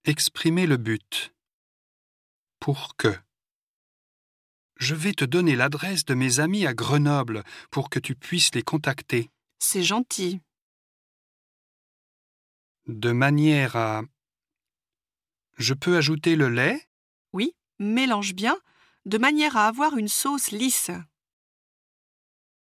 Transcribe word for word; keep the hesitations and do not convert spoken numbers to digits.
Exprimer le but. Pour que. Je vais te donner l'adresse de mes amis à Grenoble pour que tu puisses les contacter. C'est gentil. De manière à... Je peux ajouter le lait ? Oui, mélange bien, de manière à avoir une sauce lisse.